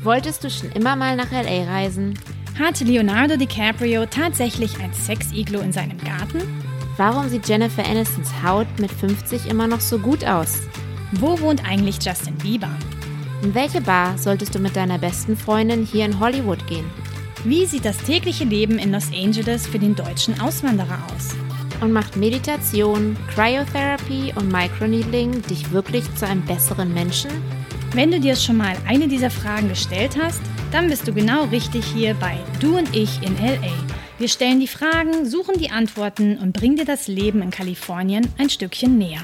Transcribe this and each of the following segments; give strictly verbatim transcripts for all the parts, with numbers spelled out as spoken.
Wolltest du schon immer mal nach L A reisen? Hatte Leonardo DiCaprio tatsächlich ein Sex-Iglo in seinem Garten? Warum sieht Jennifer Anistons Haut mit fünfzig immer noch so gut aus? Wo wohnt eigentlich Justin Bieber? In welche Bar solltest du mit deiner besten Freundin hier in Hollywood gehen? Wie sieht das tägliche Leben in Los Angeles für den deutschen Auswanderer aus? Und macht Meditation, Cryotherapy und Microneedling dich wirklich zu einem besseren Menschen? Wenn du dir schon mal eine dieser Fragen gestellt hast, dann bist du genau richtig hier bei Du und ich in L A. Wir stellen die Fragen, suchen die Antworten und bringen dir das Leben in Kalifornien ein Stückchen näher.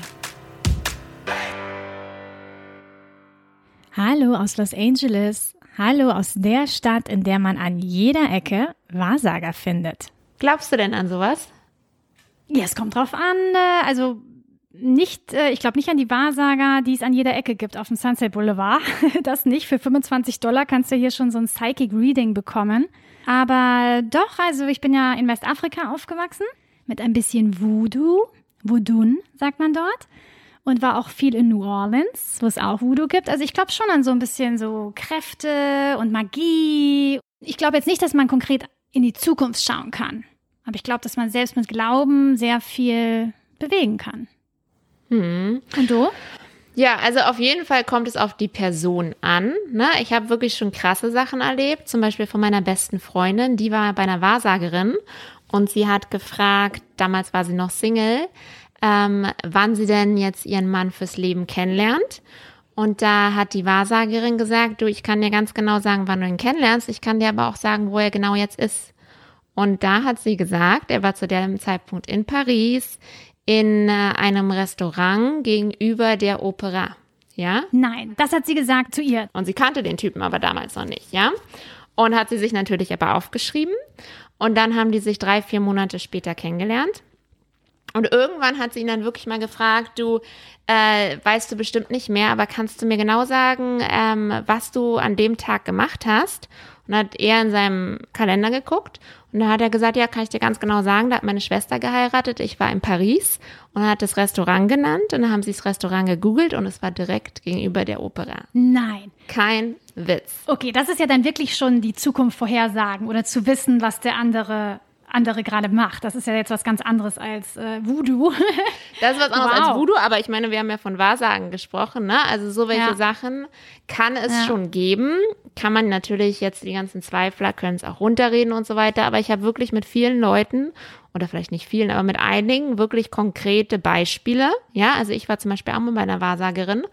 Hallo aus Los Angeles. Hallo aus der Stadt, in der man an jeder Ecke Wahrsager findet. Glaubst du denn an sowas? Ja, es kommt drauf an. Also nicht, ich glaube nicht an die Wahrsager, die es an jeder Ecke gibt auf dem Sunset Boulevard. Das nicht. Für fünfundzwanzig Dollar kannst du hier schon so ein Psychic Reading bekommen. Aber doch, also ich bin ja in Westafrika aufgewachsen mit ein bisschen Voodoo. Voodoo sagt man dort. Und war auch viel in New Orleans, wo es auch Voodoo gibt. Also ich glaube schon an so ein bisschen so Kräfte und Magie. Ich glaube jetzt nicht, dass man konkret in die Zukunft schauen kann. Aber ich glaube, dass man selbst mit Glauben sehr viel bewegen kann. Hm. Und du? Ja, also auf jeden Fall kommt es auf die Person an. Ne? Ich habe wirklich schon krasse Sachen erlebt. Zum Beispiel von meiner besten Freundin. Die war bei einer Wahrsagerin. Und sie hat gefragt, damals war sie noch Single, Ähm, wann sie denn jetzt ihren Mann fürs Leben kennenlernt. Und da hat die Wahrsagerin gesagt, du, ich kann dir ganz genau sagen, wann du ihn kennenlernst. Ich kann dir aber auch sagen, wo er genau jetzt ist. Und da hat sie gesagt, er war zu dem Zeitpunkt in Paris, in äh, einem Restaurant gegenüber der Opera. Ja? Nein, das hat sie gesagt zu ihr. Und sie kannte den Typen aber damals noch nicht, ja? Und hat sie sich natürlich aber aufgeschrieben. Und dann haben die sich drei, vier Monate später kennengelernt. Und irgendwann hat sie ihn dann wirklich mal gefragt, du, äh, weißt du bestimmt nicht mehr, aber kannst du mir genau sagen, ähm, was du an dem Tag gemacht hast? Und hat er in seinem Kalender geguckt und da hat er gesagt, ja, kann ich dir ganz genau sagen, da hat meine Schwester geheiratet, ich war in Paris und hat das Restaurant genannt und dann haben sie das Restaurant gegoogelt und es war direkt gegenüber der Opera. Nein. Kein Witz. Okay, das ist ja dann wirklich schon die Zukunft vorhersagen oder zu wissen, was der andere andere gerade macht. Das ist ja jetzt was ganz anderes als äh, Voodoo. Das ist was anderes Wow. als Voodoo, aber ich meine, wir haben ja von Wahrsagen gesprochen, ne? Also so welche Ja. Sachen kann es Ja. schon geben. Kann man natürlich jetzt, die ganzen Zweifler können es auch runterreden und so weiter, aber ich habe wirklich mit vielen Leuten, oder vielleicht nicht vielen, aber mit einigen wirklich konkrete Beispiele. Ja, also ich war zum Beispiel auch mal bei einer Wahrsagerin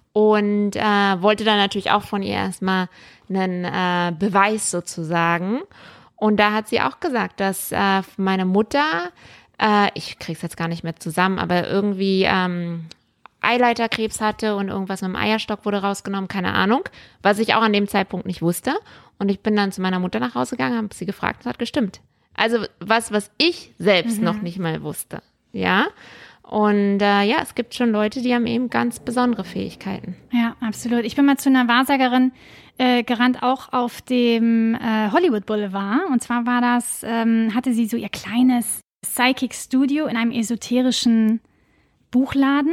und äh, wollte dann natürlich auch von ihr erstmal einen äh, Beweis sozusagen. Und da hat sie auch gesagt, dass äh, meine Mutter, äh, ich krieg's jetzt gar nicht mehr zusammen, aber irgendwie ähm, Eileiterkrebs hatte und irgendwas mit dem Eierstock wurde rausgenommen, keine Ahnung, was ich auch an dem Zeitpunkt nicht wusste. Und ich bin dann zu meiner Mutter nach Hause gegangen, habe sie gefragt, es hat gestimmt. Also was, was ich selbst mhm. noch nicht mal wusste, ja. Und äh, ja, es gibt schon Leute, die haben eben ganz besondere Fähigkeiten. Ja, absolut. Ich bin mal zu einer Wahrsagerin äh, gerannt, auch auf dem äh, Hollywood Boulevard. Und zwar war das, ähm, hatte sie so ihr kleines Psychic Studio in einem esoterischen Buchladen.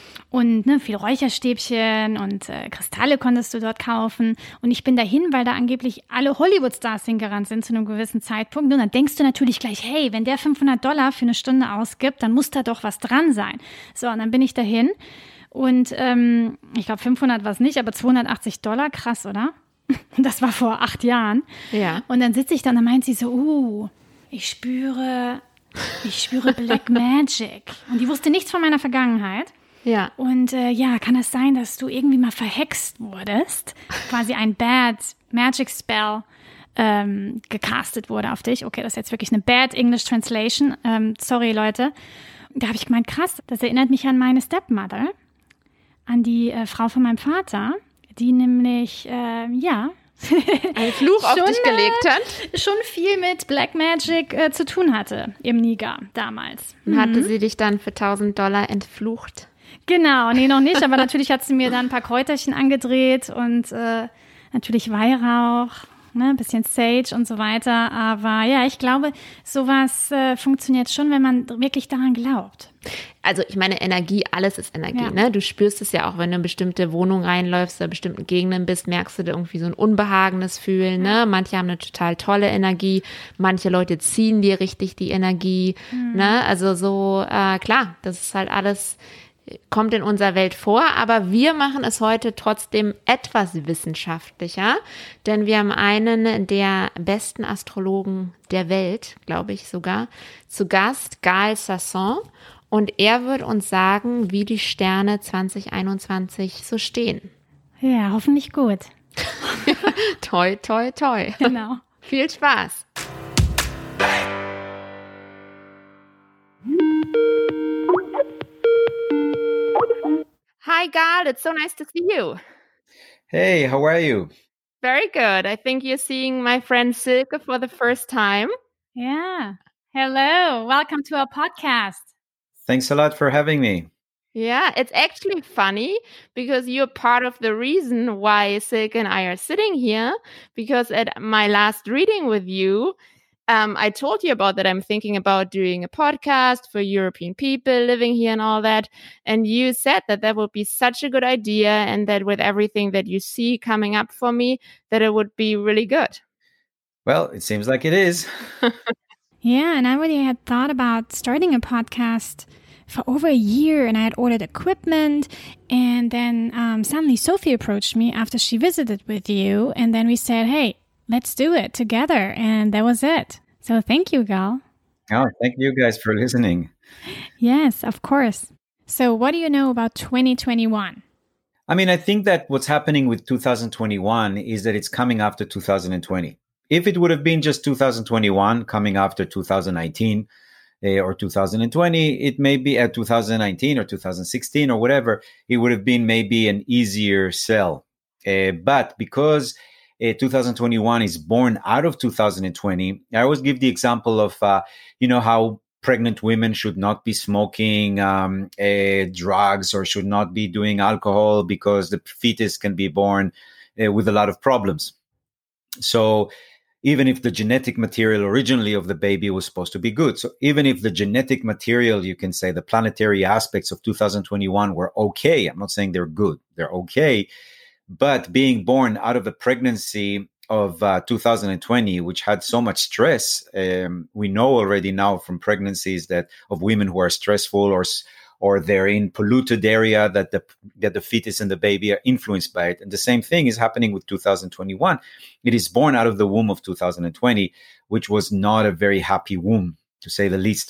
Und ne, viel Räucherstäbchen und äh, Kristalle konntest du dort kaufen. Und ich bin dahin, weil da angeblich alle Hollywood-Stars hingerannt sind zu einem gewissen Zeitpunkt. Und dann denkst du natürlich gleich, hey, wenn der fünfhundert Dollar für eine Stunde ausgibt, dann muss da doch was dran sein. So, und dann bin ich dahin. Und ähm, ich glaube, fünfhundert war es nicht, aber zweihundertachtzig Dollar, krass, oder? Das war vor acht Jahren. Ja. Und dann sitze ich da und dann meint sie so, uh, ich spüre, ich spüre Black Magic. Und die wusste nichts von meiner Vergangenheit. Ja. Und äh, ja, kann es sein, dass du irgendwie mal verhext wurdest? Quasi ein Bad Magic Spell ähm, gecastet wurde auf dich. Okay, das ist jetzt wirklich eine Bad English Translation. Ähm, sorry, Leute. Da habe ich gemeint, krass, das erinnert mich an meine Stepmother, an die äh, Frau von meinem Vater, die nämlich, äh, ja... einen Fluch auf schon, dich gelegt hat. Äh, schon viel mit Black Magic äh, zu tun hatte im Niger damals. Und hatte sie dich dann für tausend Dollar entflucht? Genau, nee, noch nicht, aber natürlich hat sie mir dann ein paar Kräuterchen angedreht und äh, natürlich Weihrauch, ne, ein bisschen Sage und so weiter. Aber ja, ich glaube, sowas äh, funktioniert schon, wenn man wirklich daran glaubt. also ich meine, Energie, alles ist Energie, Ja. ne? Du spürst es ja auch, wenn du in bestimmte Wohnungen reinläufst oder bestimmten Gegenden bist, merkst du da irgendwie so ein unbehagendes Fühlen, ne? Manche haben eine total tolle Energie, manche Leute ziehen dir richtig die Energie, Mhm. ne? Also so, äh, klar, das ist halt alles, kommt in unserer Welt vor, aber wir machen es heute trotzdem etwas wissenschaftlicher, denn wir haben einen der besten Astrologen der Welt, glaube ich sogar, zu Gast, Gaël Sasson, und er wird uns sagen, wie die Sterne zwanzig einundzwanzig so stehen. Ja, hoffentlich gut. Toi, toi, toi. Genau. Viel Spaß. Hi, Gaël. It's so nice to see you. Hey, how are you? Very good. I think you're seeing my friend Silke for the first time. Yeah. Hello. Welcome to our podcast. Thanks a lot for having me. Yeah, it's actually funny because you're part of the reason why Silke and I are sitting here, because at my last reading with you, Um, I told you about that I'm thinking about doing a podcast for European people living here and all that. And you said that that would be such a good idea and that with everything that you see coming up for me, that it would be really good. Well, it seems like it is. Yeah, and I already had thought about starting a podcast for over a year, and I had ordered equipment, and then um, suddenly Sophie approached me after she visited with you, and then we said, hey, let's do it together. And that was it. So thank you, Gaël. Oh, thank you guys for listening. Yes, of course. So what do you know about twenty twenty-one? I mean, I think that what's happening with two thousand twenty-one is that it's coming after two thousand twenty. If it would have been just two thousand twenty-one coming after two thousand nineteen uh, or two thousand twenty, it may be at two thousand nineteen or two thousand sixteen or whatever, it would have been maybe an easier sell. Uh, but because Uh, two thousand twenty-one is born out of two thousand twenty. I always give the example of, uh, you know, how pregnant women should not be smoking um, uh, drugs or should not be doing alcohol because the fetus can be born uh, with a lot of problems. So even if the genetic material originally of the baby was supposed to be good, so even if the genetic material, you can say the planetary aspects of two thousand twenty-one were okay, I'm not saying they're good, they're okay. But being born out of a pregnancy of uh, two thousand twenty, which had so much stress, um, we know already now from pregnancies that of women who are stressful or or they're in polluted area that the that the fetus and the baby are influenced by it. And the same thing is happening with two thousand twenty-one. It is born out of the womb of two thousand twenty, which was not a very happy womb, to say the least.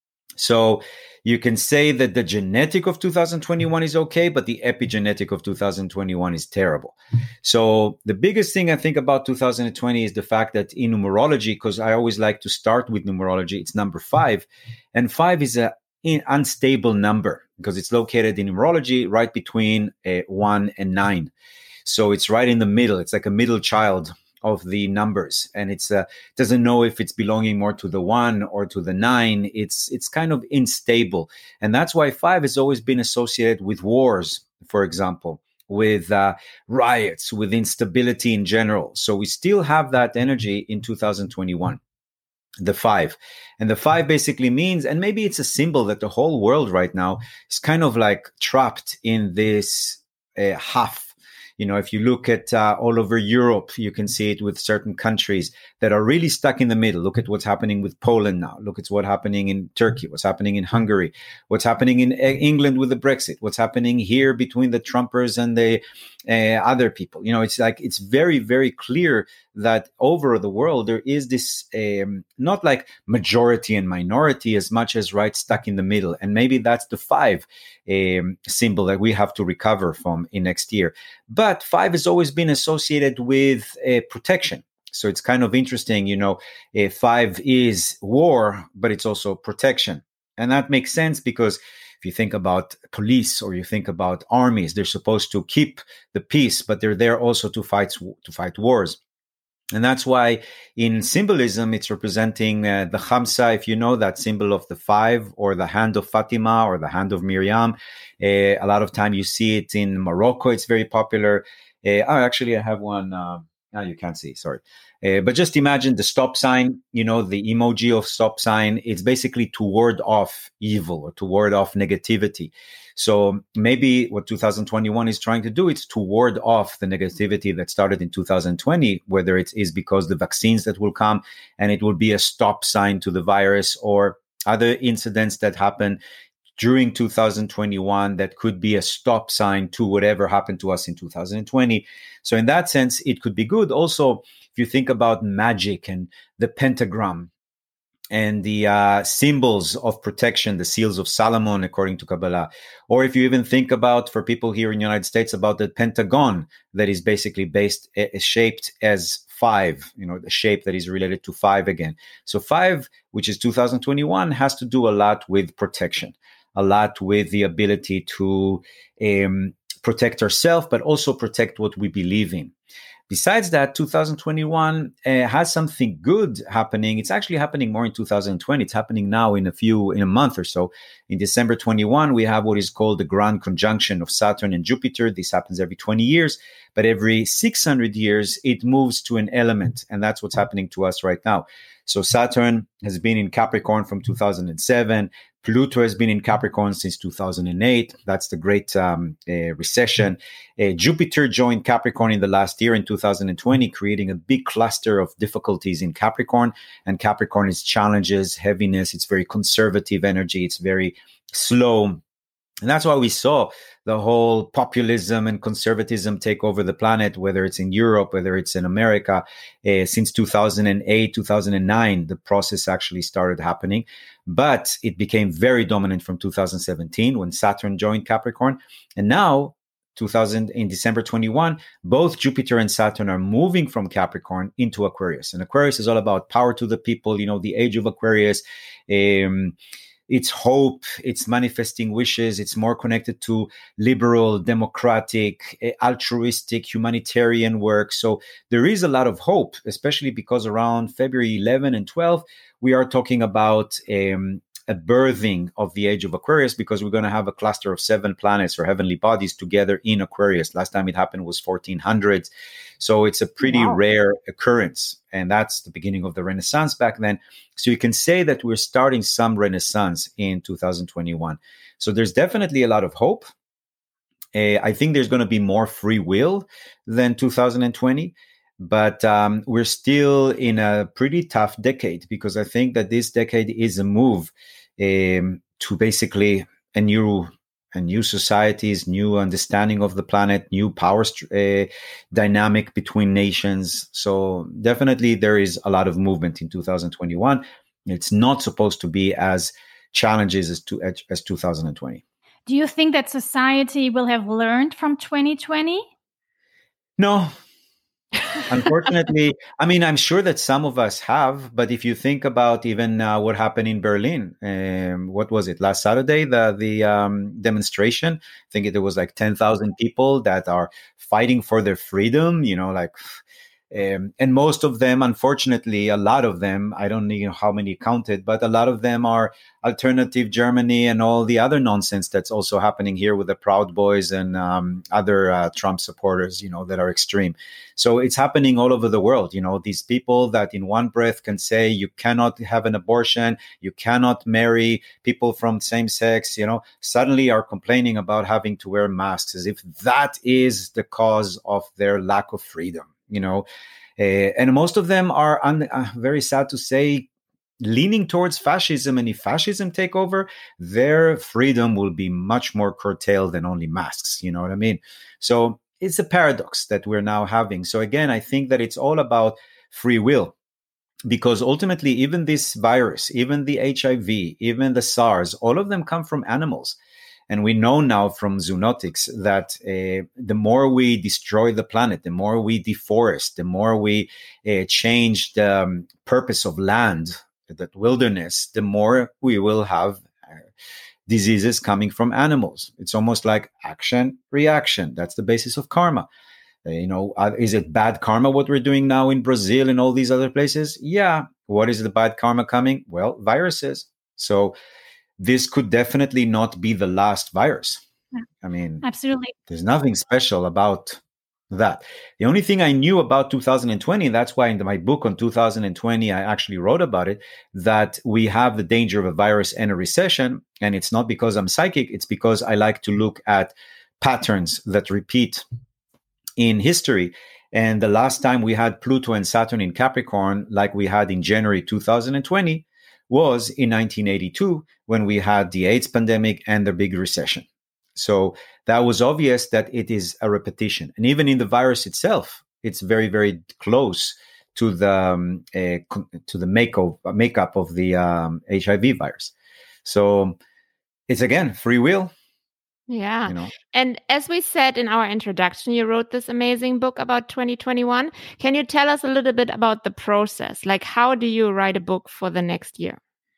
So you can say that the genetic of two thousand twenty-one is okay, but the epigenetic of two thousand twenty-one is terrible. So the biggest thing I think about two thousand twenty is the fact that in numerology, because I always like to start with numerology, it's number five. And five is an unstable number because it's located in numerology right between uh, one and nine. So it's right in the middle. It's like a middle child of the numbers, and it's uh, doesn't know if it's belonging more to the one or to the nine. It's it's kind of unstable, and that's why five has always been associated with wars, for example, with uh, riots, with instability in general. So we still have that energy in two thousand twenty-one, the five, and the five basically means, and maybe it's a symbol that the whole world right now is kind of like trapped in this uh, half. You know, if you look at uh, all over Europe, you can see it with certain countries that are really stuck in the middle. Look at what's happening with Poland now. Look at what's happening in Turkey, what's happening in Hungary, what's happening in England with the Brexit, what's happening here between the Trumpers and the uh, other people. You know, it's like it's very, very clear that over the world, there is this um, not like majority and minority as much as right stuck in the middle. And maybe that's the five um, symbol that we have to recover from in next year. But five has always been associated with uh, protection. So it's kind of interesting, you know, uh, five is war, but it's also protection. And that makes sense because if you think about police or you think about armies, they're supposed to keep the peace, but they're there also to fight, to fight wars. And that's why in symbolism, it's representing uh, the Khamsa, if you know that symbol of the five, or the hand of Fatima, or the hand of Miriam. Uh, a lot of time you see it in Morocco. It's very popular. Uh, oh, actually, I have one uh, Ah, you can't see, sorry. Uh, but just imagine the stop sign, you know, the emoji of stop sign. It's basically to ward off evil or to ward off negativity. So maybe what two thousand twenty-one is trying to do is to ward off the negativity that started in two thousand twenty, whether it is because the vaccines that will come and it will be a stop sign to the virus, or other incidents that happen during two thousand twenty-one that could be a stop sign to whatever happened to us in two thousand twenty. So in that sense, it could be good. Also, if you think about magic and the pentagram and the uh, symbols of protection, the seals of Solomon, according to Kabbalah, or if you even think about, for people here in the United States, about the pentagon that is basically based, uh, shaped as five, you know, the shape that is related to five again. So five, which is two thousand twenty-one, has to do a lot with protection, a lot with the ability to um, protect ourselves, but also protect what we believe in. Besides that, two thousand twenty-one uh, has something good happening. It's actually happening more in two thousand twenty. It's happening now in a few, in a month or so. In December twenty-one, we have what is called the grand conjunction of Saturn and Jupiter. This happens every twenty years, but every six hundred years, it moves to an element. And that's what's happening to us right now. So Saturn has been in Capricorn from two thousand seven. Pluto has been in Capricorn since two thousand eight. That's the great um, uh, recession. Uh, Jupiter joined Capricorn in the last year in two thousand twenty, creating a big cluster of difficulties in Capricorn. And Capricorn is challenges, heaviness. It's very conservative energy. It's very slow. And that's why we saw the whole populism and conservatism take over the planet, whether it's in Europe, whether it's in America. Uh, since two thousand eight, two thousand nine, the process actually started happening. But it became very dominant from two thousand seventeen when Saturn joined Capricorn. And now, two thousand in December twenty-one, both Jupiter and Saturn are moving from Capricorn into Aquarius. And Aquarius is all about power to the people, you know, the age of Aquarius. Um, It's hope, it's manifesting wishes, it's more connected to liberal, democratic, altruistic, humanitarian work. So there is a lot of hope, especially because around February eleventh and twelfth, we are talking about um, a birthing of the age of Aquarius, because we're going to have a cluster of seven planets or heavenly bodies together in Aquarius. Last time it happened was fourteen hundreds. So it's a pretty wow. rare occurrence. And that's the beginning of the Renaissance back then. So you can say that we're starting some Renaissance in two thousand twenty-one. So there's definitely a lot of hope. Uh, I think there's going to be more free will than two thousand twenty. But um, we're still in a pretty tough decade, because I think that this decade is a move um, to basically a new a new societies, new understanding of the planet, new power uh, dynamic between nations. So definitely there is a lot of movement in two thousand twenty-one. It's not supposed to be as challenges as, to, as two thousand twenty. Do you think that society will have learned from twenty twenty? No. Unfortunately, I mean, I'm sure that some of us have, but if you think about even uh, what happened in Berlin, um, what was it, last Saturday, the the um, demonstration, I think it, there was like ten thousand people that are fighting for their freedom, you know, like, um, and most of them, unfortunately, a lot of them, I don't know how many counted, but a lot of them are alternative Germany and all the other nonsense that's also happening here with the Proud Boys and um, other uh, Trump supporters, you know, that are extreme. So it's happening all over the world. You know, these people that in one breath can say you cannot have an abortion, you cannot marry people from same sex, you know, suddenly are complaining about having to wear masks as if that is the cause of their lack of freedom, you know. Uh, and most of them are, un- uh, very sad to say, leaning towards fascism. And if fascism take over, their freedom will be much more curtailed than only masks. You know what I mean? So it's a paradox that we're now having. So again, I think that it's all about free will, because ultimately, even this virus, even the H I V, even the SARS, all of them come from animals. And we know now from zoonotics that uh, the more we destroy the planet, the more we deforest, the more we uh, change the um, purpose of land, that wilderness, the more we will have uh, diseases coming from animals. It's almost like action, reaction. That's the basis of karma. Uh, you know, uh, is it bad karma what we're doing now in Brazil and all these other places? Yeah. What is the bad karma coming? Well, viruses. So this could definitely not be the last virus. Yeah. I mean, absolutely. There's nothing special about that. The only thing I knew about two thousand twenty, and that's why in my book on two thousand twenty, I actually wrote about it, that we have the danger of a virus and a recession. And it's not because I'm psychic. It's because I like to look at patterns that repeat in history. And the last time we had Pluto and Saturn in Capricorn, like we had in January two thousand twenty, was in nineteen eighty-two, when we had the AIDS pandemic and the big recession. So that was obvious that it is a repetition. And even in the virus itself, it's very, very close to the um, uh, to the makeup, makeup of the um, H I V virus. So it's, again, free will. Yeah. You know? And as we said in our introduction, you wrote this amazing book about twenty twenty-one. Can you tell us a little bit about the process? Like, how do you write a book for the next year?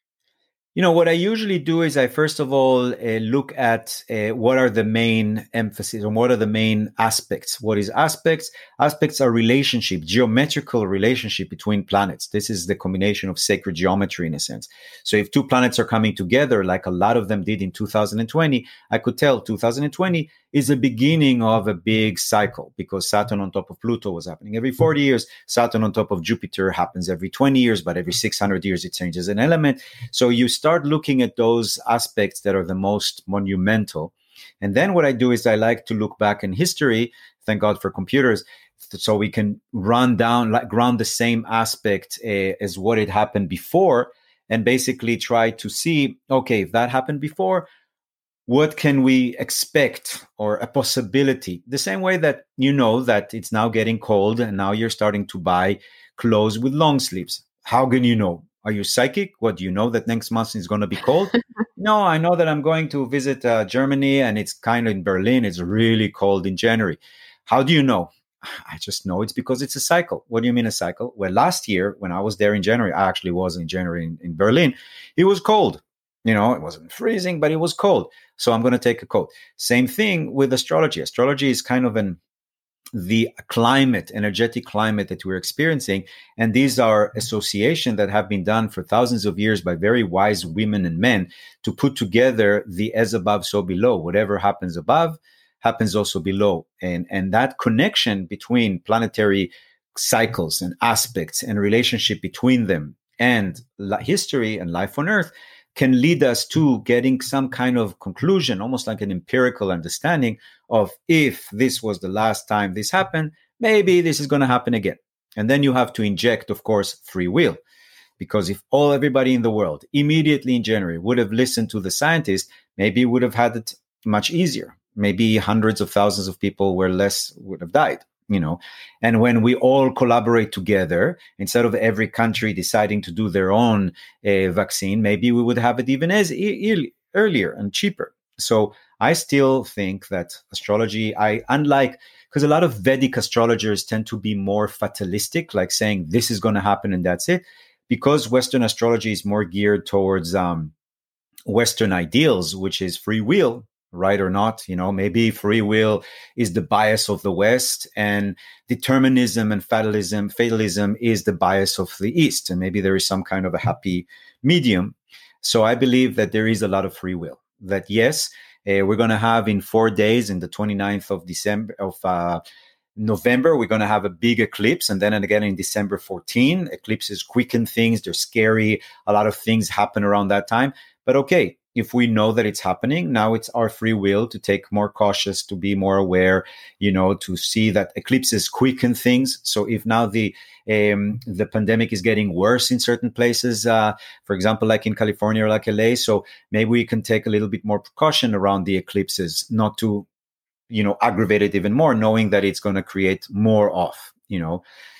You know, what I usually do is I first of all uh, look at uh, what are the main emphases and what are the main aspects. What is aspects? Aspects are relationship, geometrical relationship between planets. This is the combination of sacred geometry in a sense. So if two planets are coming together, like a lot of them did in two thousand twenty, I could tell two thousand twenty is the beginning of a big cycle, because Saturn on top of Pluto was happening every forty years. Saturn on top of Jupiter happens every twenty years, but every six hundred years it changes an element. So you start looking at those aspects that are the most monumental. And then what I do is I like to look back in history, thank God for computers, so we can run down, like ground the same aspect uh, as what had happened before, and basically try to see, okay, if that happened before, what can we expect, or a possibility? The same way that you know that it's now getting cold and now you're starting to buy clothes with long sleeves. How can you know? Are you psychic? What, do you know that next month is going to be cold? No, I know that I'm going to visit uh, Germany, and it's kind of in Berlin. It's really cold in January. How do you know? I just know it's because it's a cycle. What do you mean a cycle? Well, last year when I was there in January, I actually was in January in, in Berlin. It was cold. You know, it wasn't freezing, but it was cold. So I'm going to take a coat. Same thing with astrology. Astrology is kind of an the climate, energetic climate that we're experiencing. And these are associations that have been done for thousands of years by very wise women and men to put together the as above, so below. Whatever happens above happens also below. And, and that connection between planetary cycles and aspects and relationship between them and history and life on Earth can lead us to getting some kind of conclusion, almost like an empirical understanding of, if this was the last time this happened, maybe this is going to happen again. And then you have to inject, of course, free will. Because if all everybody in the world immediately in January would have listened to the scientists, maybe it would have had it much easier. Maybe hundreds of thousands of people were less would have died. You know, and when we all collaborate together, instead of every country deciding to do their own uh, vaccine, maybe we would have it even as e- earlier and cheaper. So I still think that astrology, I unlike, because a lot of Vedic astrologers tend to be more fatalistic, like saying this is going to happen and that's it. Because Western astrology is more geared towards um, Western ideals, which is free will. Right or not, you know, maybe free will is the bias of the West, and determinism and fatalism, fatalism is the bias of the East. And maybe there is some kind of a happy medium. So I believe that there is a lot of free will. That yes, uh, we're going to have in four days, in the twenty-ninth of December of uh, November, we're going to have a big eclipse, and then and again in December fourteenth. Eclipses quicken things; they're scary. A lot of things happen around that time. But okay, if we know that it's happening, now it's our free will to take more cautious, to be more aware, you know, to see that eclipses quicken things. So if now the um, the pandemic is getting worse in certain places, uh, for example, like in California or like L A, so maybe we can take a little bit more precaution around the eclipses, not to, you know, aggravate it even more, knowing that it's going to create more off, you know.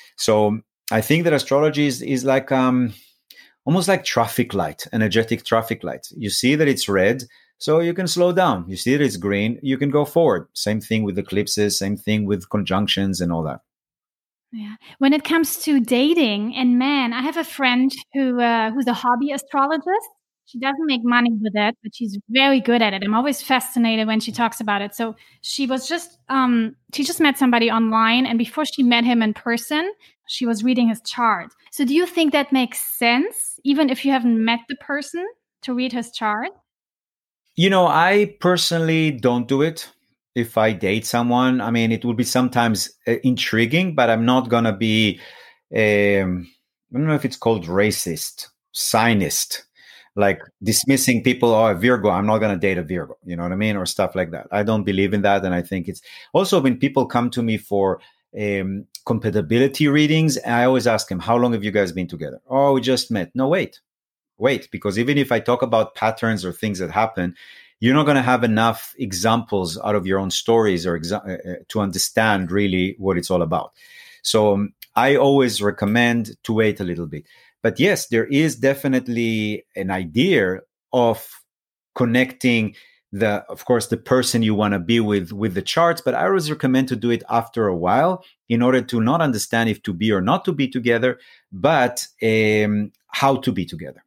So I think that astrology is, is like... um. almost like traffic light, energetic traffic light. You see that it's red, so you can slow down. You see that it's green, you can go forward. Same thing with eclipses, same thing with conjunctions and all that. Yeah. When it comes to dating and men, I have a friend who uh, who's a hobby astrologist. She doesn't make money with it, but she's very good at it. I'm always fascinated when she talks about it. So she was just, um, she just met somebody online, and before she met him in person, she was reading his chart. So do you think that makes sense, even if you haven't met the person, to read his chart? You know, I personally don't do it. if I date someone. I mean, it will be sometimes uh, intriguing, but I'm not going to be, um, I don't know if it's called racist, signist, like dismissing people. Oh, a Virgo, I'm not going to date a Virgo. You know what I mean? Or stuff like that. I don't believe in that. And I think it's also when people come to me for um, compatibility readings, I always ask them, how long have you guys been together? Oh, we just met. No, wait, wait, because even if I talk about patterns or things that happen, you're not going to have enough examples out of your own stories or exa- uh, to understand really what it's all about. So um, I always recommend to wait a little bit. But yes, there is definitely an idea of connecting the, of course, the person you want to be with, with the charts. But I always recommend to do it after a while in order to not understand if to be or not to be together, but um, how to be together,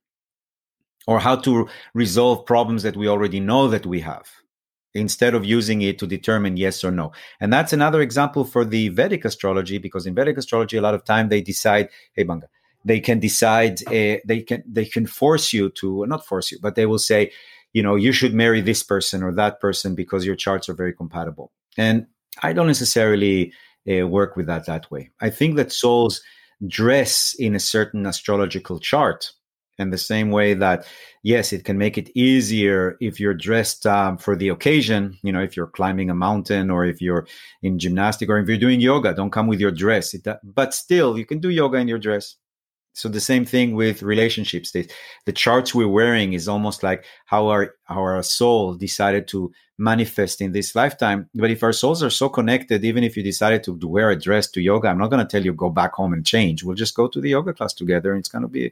or how to resolve problems that we already know that we have, instead of using it to determine yes or no. And that's another example for the Vedic astrology, because in Vedic astrology, a lot of time they decide, hey, Banga, they can decide, uh, they can they can force you to, not force you, but they will say, you know, you should marry this person or that person because your charts are very compatible. And I don't necessarily uh, work with that that way. I think that souls dress in a certain astrological chart. And the same way that, yes, it can make it easier if you're dressed um, for the occasion, you know, if you're climbing a mountain or if you're in gymnastic or if you're doing yoga, don't come with your dress. It, but still, you can do yoga in your dress. So the same thing with relationships. The, the charts we're wearing is almost like how our, how our soul decided to manifest in this lifetime. But if our souls are so connected, even if you decided to, to wear a dress to yoga, I'm not going to tell you go back home and change. We'll just go to the yoga class together and it's going to be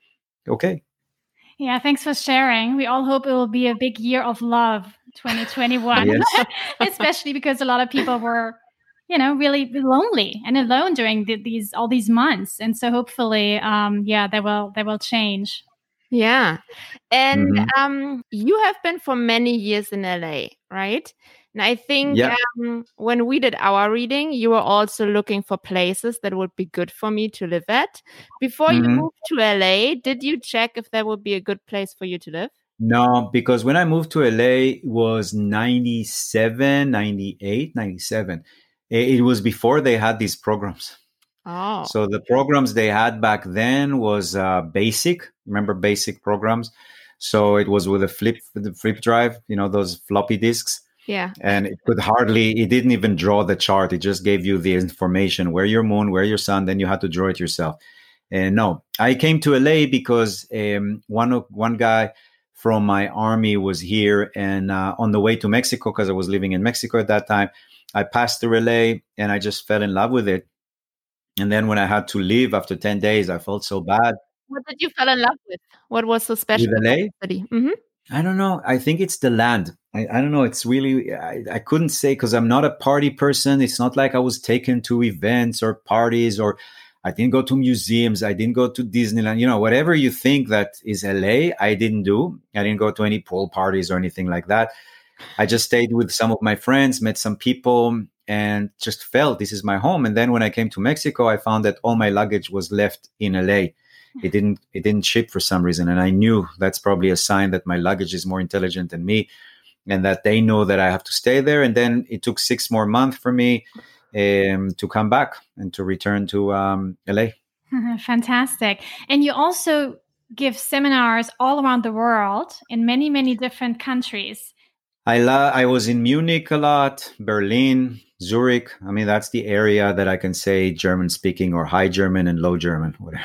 okay. Yeah, thanks for sharing. We all hope it will be a big year of love, twenty twenty-one, yes. Especially because a lot of people were, you know, really lonely and alone during the, these all these months, and so hopefully, um, yeah, they will they will change. Yeah, and mm-hmm. um, you have been for many years in L A, right? And I think yeah. um, when we did our reading, you were also looking for places that would be good for me to live at. Before mm-hmm. you moved to L A, did you check if there would be a good place for you to live? No, because when I moved to L A, it was ninety-seven, ninety-eight, ninety-seven. It was before they had these programs. Oh. So the programs they had back then was uh, basic. Remember basic programs? So it was with a flip, the flip drive, you know, those floppy disks. Yeah. And it could hardly, it didn't even draw the chart. It just gave you the information, where your moon, where your sun, then you had to draw it yourself. And no, I came to L A because um, one of, one guy from my army was here, and uh, on the way to Mexico, because I was living in Mexico at that time, I passed through L A and I just fell in love with it. And then when I had to leave after ten days, I felt so bad. What did you fall in love with? What was so special with L A? about the city? Mm-hmm. I don't know. I think it's the land. I, I don't know. It's really, I, I couldn't say, because I'm not a party person. It's not like I was taken to events or parties, or I didn't go to museums. I didn't go to Disneyland. You know, whatever you think that is L A, I didn't do. I didn't go to any pool parties or anything like that. I just stayed with some of my friends, met some people, and just felt this is my home. And then when I came to Mexico, I found that all my luggage was left in L A. It didn't it didn't ship for some reason. And I knew that's probably a sign that my luggage is more intelligent than me, and that they know that I have to stay there. And then it took six more months for me um, to come back and to return to um, L A. Fantastic. And you also give seminars all around the world in many, many different countries. I la- I was in Munich a lot, Berlin, Zurich. I mean, that's the area that I can say German speaking, or high German and low German, whatever.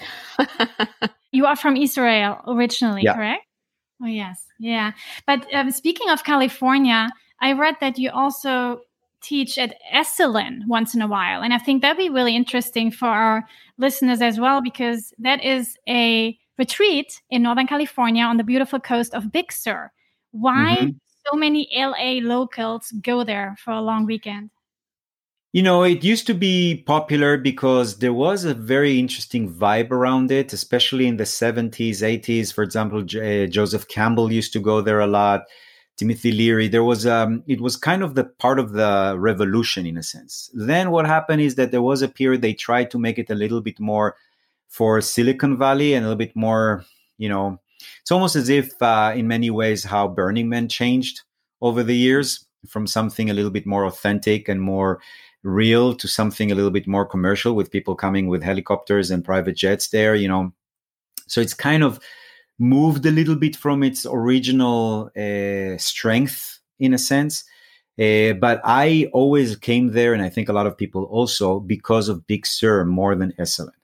You are from Israel originally, yeah. correct? Oh, yes. Yeah. But um, speaking of California, I read that you also teach at Esalen once in a while. And I think that'd be really interesting for our listeners as well, because that is a retreat in Northern California on the beautiful coast of Big Sur. Why mm-hmm. so many L A locals go there for a long weekend? You know, it used to be popular because there was a very interesting vibe around it, especially in the seventies, eighties. For example, J- Joseph Campbell used to go there a lot. Timothy Leary. There was, um, it was kind of the part of the revolution in a sense. Then what happened is that there was a period they tried to make it a little bit more for Silicon Valley and a little bit more, you know, it's almost as if uh, in many ways how Burning Man changed over the years. from something a little bit more authentic and more real to something a little bit more commercial, with people coming with helicopters and private jets there, you know. So it's kind of moved a little bit from its original uh, strength in a sense. Uh, but I always came there, and I think a lot of people also, because of Big Sur more than Esalen.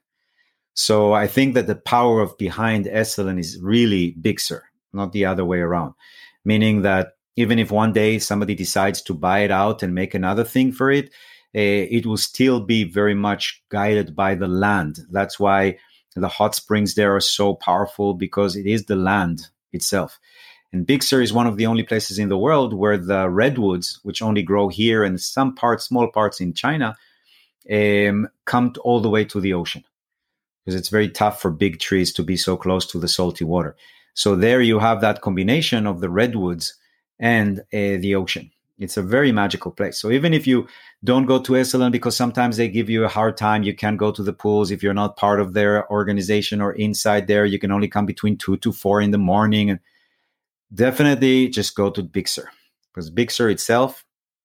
So I think that the power of behind Esalen is really Big Sur, not the other way around. Meaning that even if one day somebody decides to buy it out and make another thing for it, uh, it will still be very much guided by the land. That's why the hot springs there are so powerful, because it is the land itself. And Big Sur is one of the only places in the world where the redwoods, which only grow here and some parts, small parts in China, um, come all the way to the ocean. Because it's very tough for big trees to be so close to the salty water. So there you have that combination of the redwoods and uh, the ocean. It's a very magical place. So even if you don't go to Esalen, because sometimes they give you a hard time, you can't go to the pools if you're not part of their organization or inside there. You can only come between two to four in the morning. And definitely just go to Big Sur, because Big Sur itself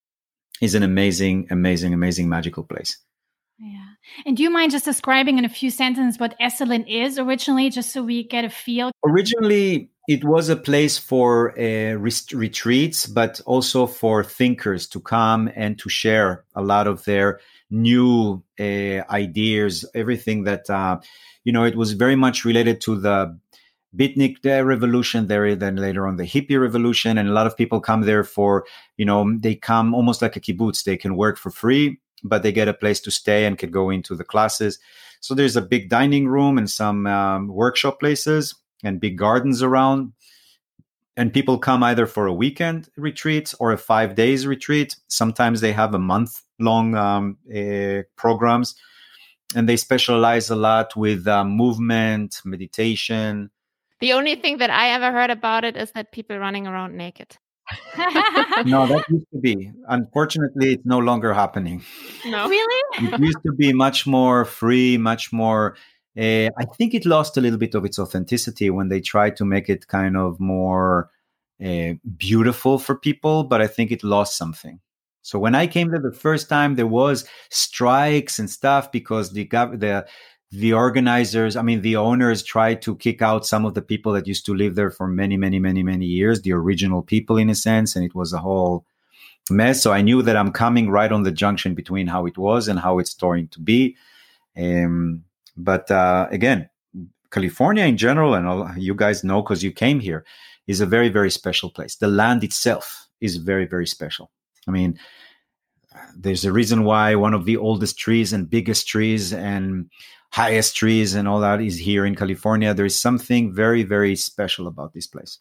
is an amazing, amazing, amazing magical place. Yeah. And do you mind just describing in a few sentences what Esalen is originally, just so we get a feel? Originally, it was a place for uh, rest- retreats, but also for thinkers to come and to share a lot of their new uh, ideas, everything that, uh, you know, it was very much related to the Beatnik revolution there, then later on the hippie revolution. And a lot of people come there for, you know, they come almost like a kibbutz. They can work for free, but they get a place to stay and can go into the classes. So there's a big dining room and some um, workshop places and big gardens around. And people come either for a weekend retreat or a five days retreat. Sometimes they have a month long um, uh, programs, and they specialize a lot with uh, movement, meditation. The only thing that I ever heard about it is that people running around naked. No, that used to be. Unfortunately, it's no longer happening. No. Really? It used to be much more free, much more. Uh, I think it lost a little bit of its authenticity when they tried to make it kind of more uh, beautiful for people, but I think it lost something. So when I came there the first time, there was strikes and stuff because the gov- the the organizers, I mean, the owners tried to kick out some of the people that used to live there for many, many, many, many years, the original people in a sense, and it was a whole mess. So I knew that I'm coming right on the junction between how it was and how it's going to be. Um, but uh, again, California in general, and all, you guys know because you came here, is a very, very special place. The land itself is very, very special. I mean, there's a reason why one of the oldest trees and biggest trees and highest trees and all that is here in California. There is something very, very special about this place.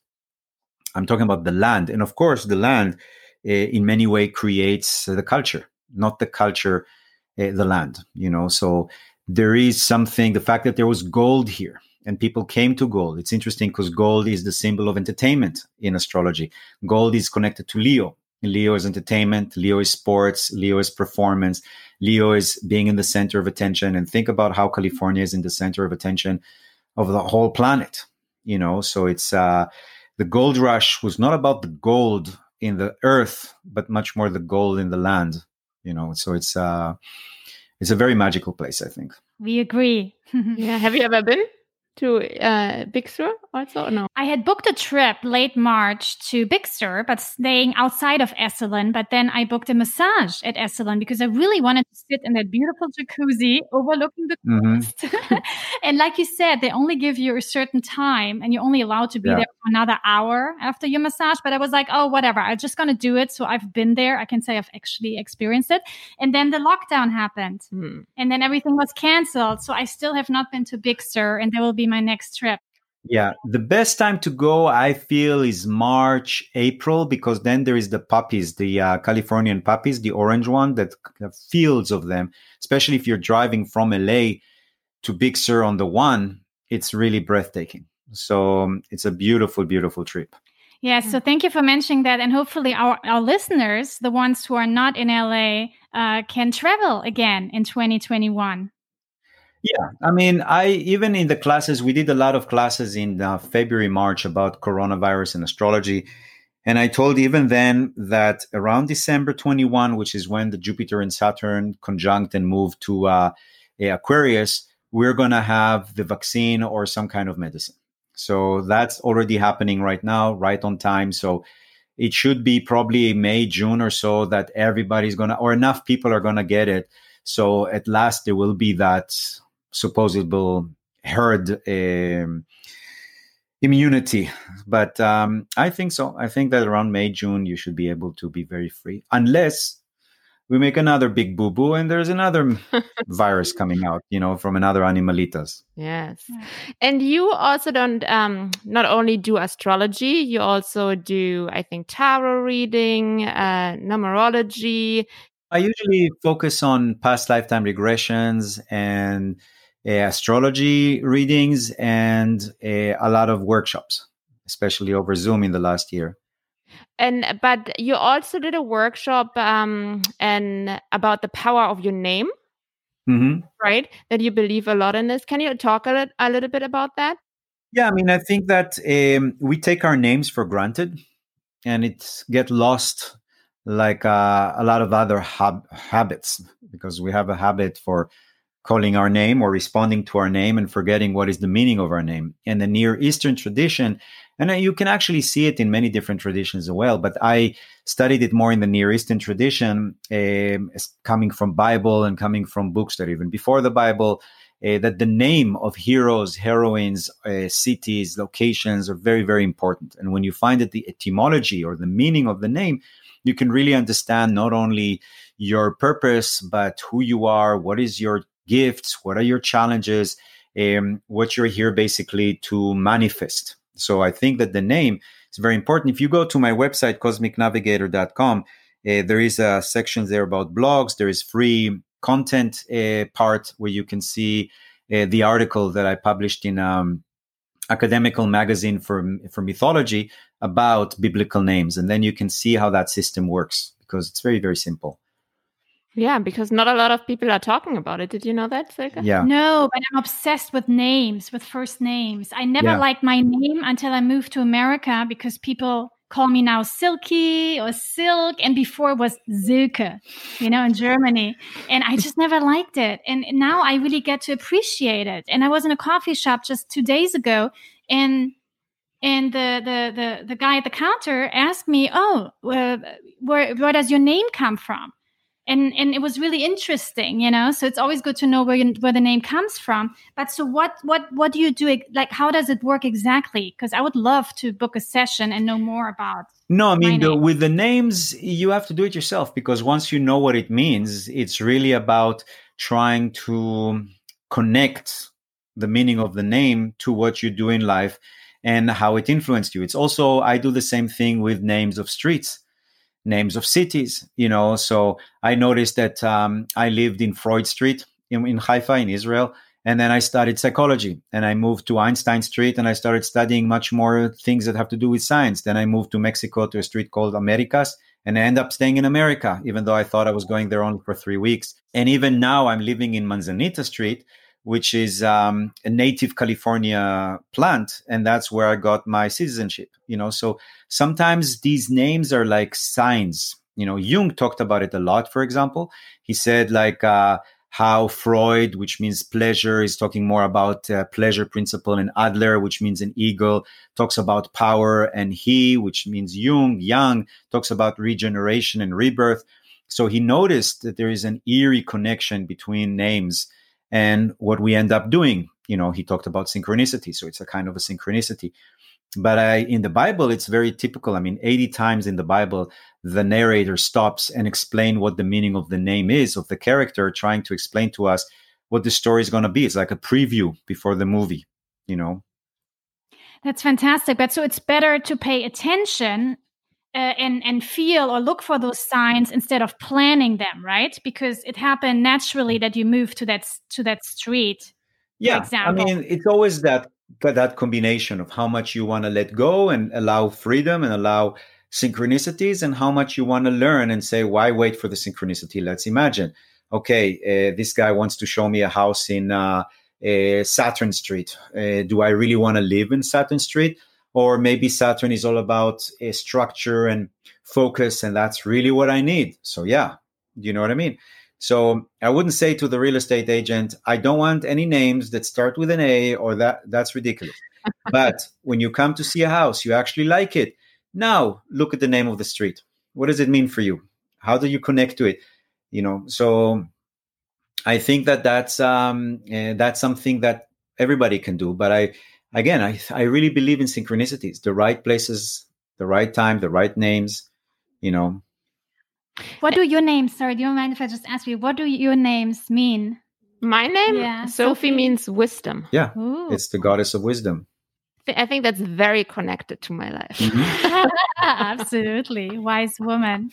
I'm talking about the land. And of course, the land uh, in many ways creates uh, the culture, not the culture, uh, the land, you know. So there is something, the fact that there was gold here and people came to gold. It's interesting because gold is the symbol of entertainment in astrology. Gold is connected to Leo. Leo is entertainment, Leo is sports, Leo is performance, Leo is being in the center of attention. And think about how California is in the center of attention of the whole planet, you know. So it's uh, the gold rush was not about the gold in the earth, but much more the gold in the land, you know. So it's uh, it's a very magical place, I think. We agree. Yeah. Have you ever been to uh, Big Sur also? No. I had booked a trip late March to Big Sur, but staying outside of Esalen. But then I booked a massage at Esalen because I really wanted to sit in that beautiful jacuzzi overlooking the coast. Mm-hmm. And like you said, they only give you a certain time and you're only allowed to be yeah. there for another hour after your massage. But I was like, oh, whatever. I'm just going to do it. So I've been there. I can say I've actually experienced it. And then the lockdown happened. Mm. And then everything was canceled. So I still have not been to Big Sur, and there will be my next trip. Yeah, the best time to go, I feel, is March, April, because then there is the poppies, the uh, Californian poppies, the orange one, that have fields of them. Especially if you're driving from L A to Big Sur on the one, it's really breathtaking. So um, it's a beautiful, beautiful trip. Yeah, so thank you for mentioning that. And hopefully our, our listeners, the ones who are not in L A, uh, can travel again in twenty twenty-one. Yeah, I mean, I even in the classes, we did a lot of classes in uh, February, March about coronavirus and astrology. And I told even then that around December twenty-first, which is when the Jupiter and Saturn conjunct and move to uh, Aquarius, we're going to have the vaccine or some kind of medicine. So that's already happening right now, right on time. So it should be probably May, June or so that everybody's going to, or enough people are going to get it. So at last there will be that supposable herd um, immunity. But um, I think so. I think that around May, June, you should be able to be very free, unless we make another big boo-boo and there's another virus coming out, you know, from another animalitas. Yes. And you also don't um, not only do astrology, you also do, I think, tarot reading, uh, numerology. I usually focus on past lifetime regressions and uh, astrology readings and uh, a lot of workshops, especially over Zoom in the last year. And but you also did a workshop um, and about the power of your name, mm-hmm. right? That you believe a lot in this. Can you talk a, li- a little bit about that? Yeah, I mean, I think that um, we take our names for granted, and it get lost like uh, a lot of other hab- habits, because we have a habit for calling our name or responding to our name and forgetting what is the meaning of our name. And the Near Eastern tradition, and you can actually see it in many different traditions as well, but I studied it more in the Near Eastern tradition, um, coming from Bible and coming from books that even before the Bible, uh, that the name of heroes, heroines, uh, cities, locations are very, very important. And when you find that the etymology or the meaning of the name, you can really understand not only your purpose, but who you are, what is your gifts, what are your challenges, um, what you're here basically to manifest. So I think that the name is very important. If you go to my website, cosmic navigator dot com, uh, there is a section there about blogs. There is free content uh, part where you can see uh, the article that I published in um, academical magazine for, for mythology about biblical names. And then you can see how that system works, because it's very, very simple. Yeah, because not a lot of people are talking about it. Did you know that, Silke? Yeah. No, but I'm obsessed with names, with first names. I never Yeah. liked my name until I moved to America, because people call me now Silky or Silk, and before it was Silke, you know, in Germany. And I just never liked it. And now I really get to appreciate it. And I was in a coffee shop just two days ago, and and the the the, the guy at the counter asked me, "Oh, uh, where where does your name come from?" And and it was really interesting, you know. So it's always good to know where you, where the name comes from. But so what what what do you do? Like, how does it work exactly? Because I would love to book a session and know more about. No, I mean, my the, name. with the names, you have to do it yourself, because once you know what it means, it's really about trying to connect the meaning of the name to what you do in life and how it influenced you. It's also, I do the same thing with names of streets, names of cities, you know. So I noticed that um, I lived in Freud Street in, in Haifa, in Israel. And then I studied psychology, and I moved to Einstein Street, and I started studying much more things that have to do with science. Then I moved to Mexico to a street called Americas, and I ended up staying in America, even though I thought I was going there only for three weeks. And even now I'm living in Manzanita Street, which is um, a native California plant. And that's where I got my citizenship, you know. So sometimes these names are like signs. You know, Jung talked about it a lot, for example. He said like, uh, how Freud, which means pleasure, is talking more about uh, pleasure principle, and Adler, which means an eagle, talks about power, and he, which means Jung, Yang, talks about regeneration and rebirth. So he noticed that there is an eerie connection between names and what we end up doing. You know, he talked about synchronicity, so it's a kind of a synchronicity. But I, in the Bible, it's very typical. I mean, eighty times in the Bible, the narrator stops and explain what the meaning of the name is, of the character, trying to explain to us what the story is going to be. It's like a preview before the movie, you know? That's fantastic. But so it's better to pay attention uh, and, and feel or look for those signs instead of planning them, right? Because it happened naturally that you moved to that, to that street, yeah, for example. I mean, it's always that, that combination of how much you want to let go and allow freedom and allow synchronicities, and how much you want to learn and say, why wait for the synchronicity? Let's imagine, okay, uh, this guy wants to show me a house in uh, uh, Saturn Street. Uh, do I really want to live in Saturn Street? Or maybe Saturn is all about a structure and focus, and that's really what I need. So yeah, you know what I mean? So I wouldn't say to the real estate agent, I don't want any names that start with an A, or that that's ridiculous. But when you come to see a house, you actually like it. Now look at the name of the street. What does it mean for you? How do you connect to it? You know, so I think that that's um, uh, that's something that everybody can do. But I, again, I I really believe in synchronicities, the right places, the right time, the right names. You know. What do your names? Sorry, do you mind if I just ask you? What do your names mean? My name, Yeah, Sophie, Sophie. means wisdom. Yeah, Ooh. it's the goddess of wisdom. I think that's very connected to my life. Mm-hmm. Absolutely. Wise woman.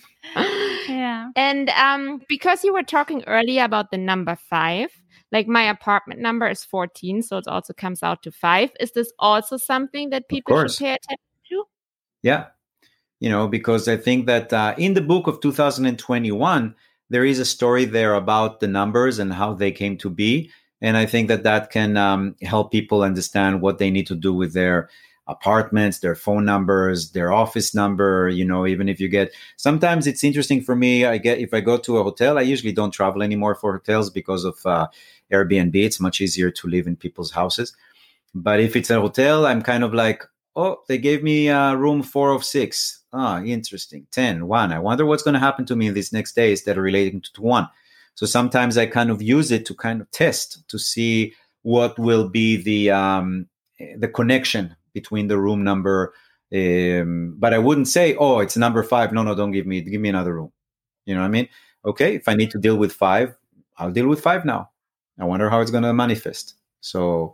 Yeah. And um, because you were talking earlier about the number five, like my apartment number is fourteen, so it also comes out to five. Is this also something that people should course. pay attention to? Yeah, you know, because I think that uh, in the book of two thousand twenty-one, there is a story there about the numbers and how they came to be. And I think that that can um, help people understand what they need to do with their apartments, their phone numbers, their office number. You know, even if you get, sometimes it's interesting for me. I get, if I go to a hotel, I usually don't travel anymore for hotels because of uh, Airbnb. It's much easier to live in people's houses. But if it's a hotel, I'm kind of like, oh, they gave me uh, room four of six. Ah, interesting. ten, one. I wonder what's going to happen to me in these next days that are relating to one. So sometimes I kind of use it to kind of test to see what will be the um, the connection between the room number. Um, but I wouldn't say, oh, it's number five. No, no, don't give me, give me another room. You know what I mean? Okay, if I need to deal with five, I'll deal with five now. I wonder how it's going to manifest. So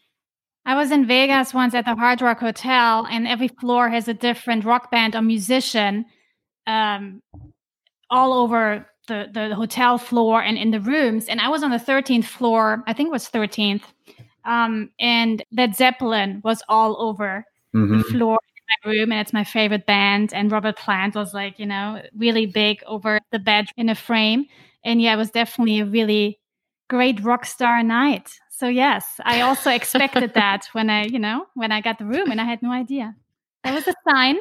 I was in Vegas once at the Hard Rock Hotel, and every floor has a different rock band or musician um, all over the, the hotel floor and in the rooms. And I was on the thirteenth floor, I think it was thirteenth. Um, and Led Zeppelin was all over mm-hmm. the floor in my room, and it's my favorite band. And Robert Plant was like, you know, really big over the bed in a frame. And yeah, it was definitely a really great rock star night. So yes, I also expected that when I, you know, when I got the room, and I had no idea. That was a sign.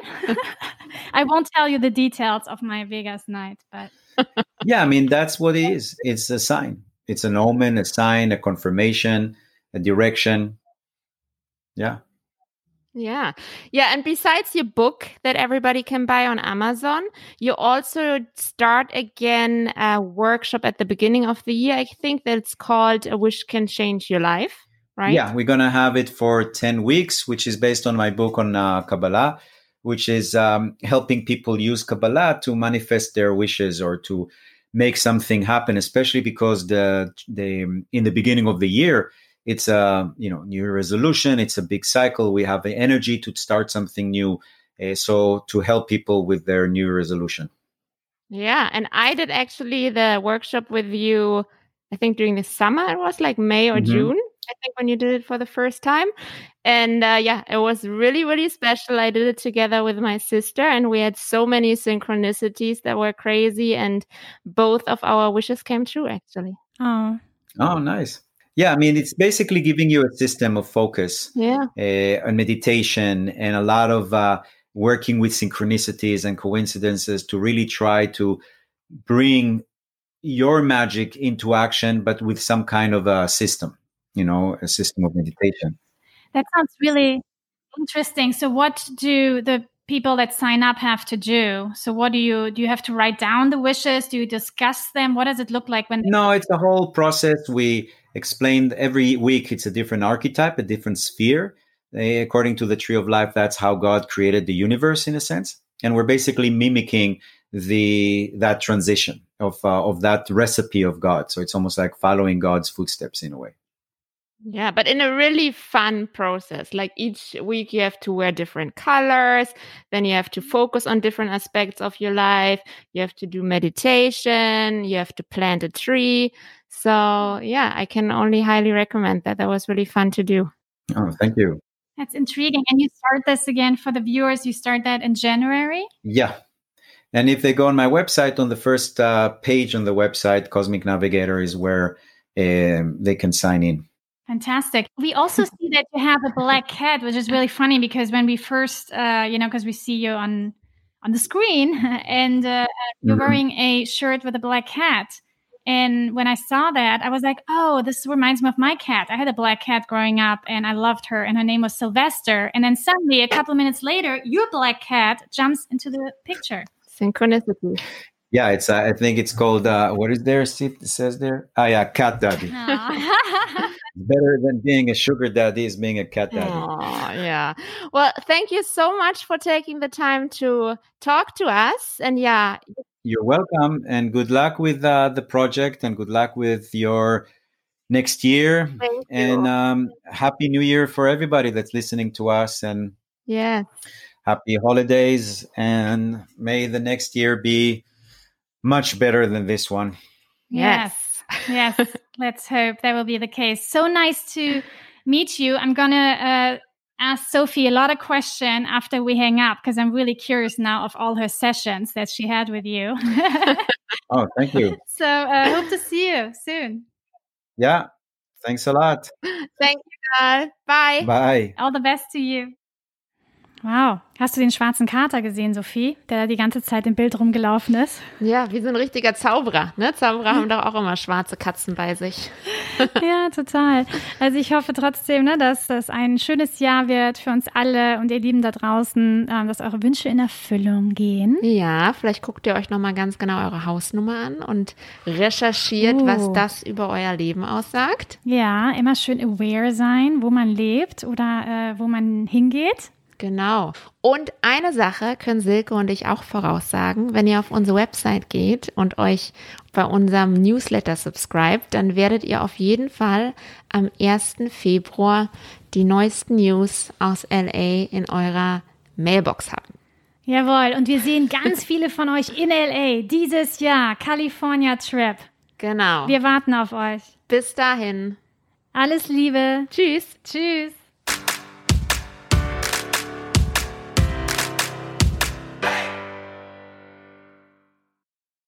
I won't tell you the details of my Vegas night, but yeah, I mean, that's what it is. It's a sign. It's an omen, a sign, a confirmation, a direction. Yeah. Yeah. Yeah. And besides your book that everybody can buy on Amazon, you also start again a workshop at the beginning of the year. I think that's called A Wish Can Change Your Life, right? Yeah. We're going to have it for ten weeks, which is based on my book on uh, Kabbalah, which is um, helping people use Kabbalah to manifest their wishes or to make something happen, especially because the the in the beginning of the year, it's a you know new resolution. It's a big cycle. We have the energy to start something new. Uh, so to help people with their new resolution. Yeah. And I did actually the workshop with you, I think during the summer. It was like May or Mm-hmm. June, I think, when you did it for the first time. And uh, yeah, it was really, really special. I did it together with my sister, and we had so many synchronicities that were crazy. And both of our wishes came true, actually. oh, Oh, nice. Yeah, I mean, it's basically giving you a system of focus, Yeah. uh, and meditation, and a lot of uh, working with synchronicities and coincidences to really try to bring your magic into action, but with some kind of a system, you know, a system of meditation. that sounds really interesting. So what do the people that sign up have to do? So what do you, do you have to write down the wishes? Do you discuss them? What does it look like when? No, it's a whole process. We explained every week it's a different archetype, a different sphere. Uh, according to the Tree of Life, that's how God created the universe in a sense. And we're basically mimicking the that transition of uh, of that recipe of God. So it's almost like following God's footsteps in a way. Yeah, but in a really fun process. Like each week you have to wear different colors, then you have to focus on different aspects of your life. You have to do meditation, you have to plant a tree. So yeah, I can only highly recommend that. That was really fun to do. Oh, thank you. That's intriguing. And you start this again for the viewers. You start that in January? Yeah. And if they go on my website, on the first uh, page on the website, Cosmic Navigator is where um, they can sign in. Fantastic. We also see that you have a black cat, which is really funny because when we first, uh, you know, because we see you on on the screen and uh, you're Mhm. wearing a shirt with a black cat. And when I saw that, I was like, oh, this reminds me of my cat. I had a black cat growing up and I loved her and her name was Sylvester. And then suddenly a couple of minutes later, your black cat jumps into the picture. Synchronicity. Yeah, it's. Uh, I think it's called. Uh, what is there? See, it says there. Ah, yeah, cat daddy. Aw. Better than being a sugar daddy is being a cat daddy. Aw, yeah. Well, thank you so much for taking the time to talk to us. And yeah, You're welcome, and good luck with uh, the project, and good luck with your next year. thank And you. um, happy New Year for everybody that's listening to us, and Yeah. happy holidays. And may the next year be much better than this one. Yes. Yes. Let's hope that will be the case. So nice to meet you. I'm going to uh, ask Sophie a lot of questions after we hang up because I'm really curious now of all her sessions that she had with you. Oh, thank you. So I uh, hope to see you soon. Yeah, thanks a lot. Thank you, guys. Bye. Bye. All the best to you. Wow. Hast du den schwarzen Kater gesehen, Sophie, der da die ganze Zeit im Bild rumgelaufen ist? Ja, wie so ein richtiger Zauberer. Ne? Zauberer haben doch auch immer schwarze Katzen bei sich. Ja, total. Also ich hoffe trotzdem, ne, dass das ein schönes Jahr wird für uns alle und ihr Lieben da draußen, äh, dass eure Wünsche in Erfüllung gehen. Ja, vielleicht guckt ihr euch nochmal ganz genau eure Hausnummer an und recherchiert, Uh. was das über euer Leben aussagt. Ja, immer schön aware sein, wo man lebt oder äh, wo man hingeht. Genau. Und eine Sache können Silke und ich auch voraussagen. Wenn ihr auf unsere Website geht und euch bei unserem Newsletter subscribt, dann werdet ihr auf jeden Fall am ersten Februar die neuesten News aus L A in eurer Mailbox haben. Jawohl, und wir sehen ganz viele von euch in L A dieses Jahr, California Trip. Genau. Wir warten auf euch. Bis dahin. Alles Liebe. Tschüss. Tschüss.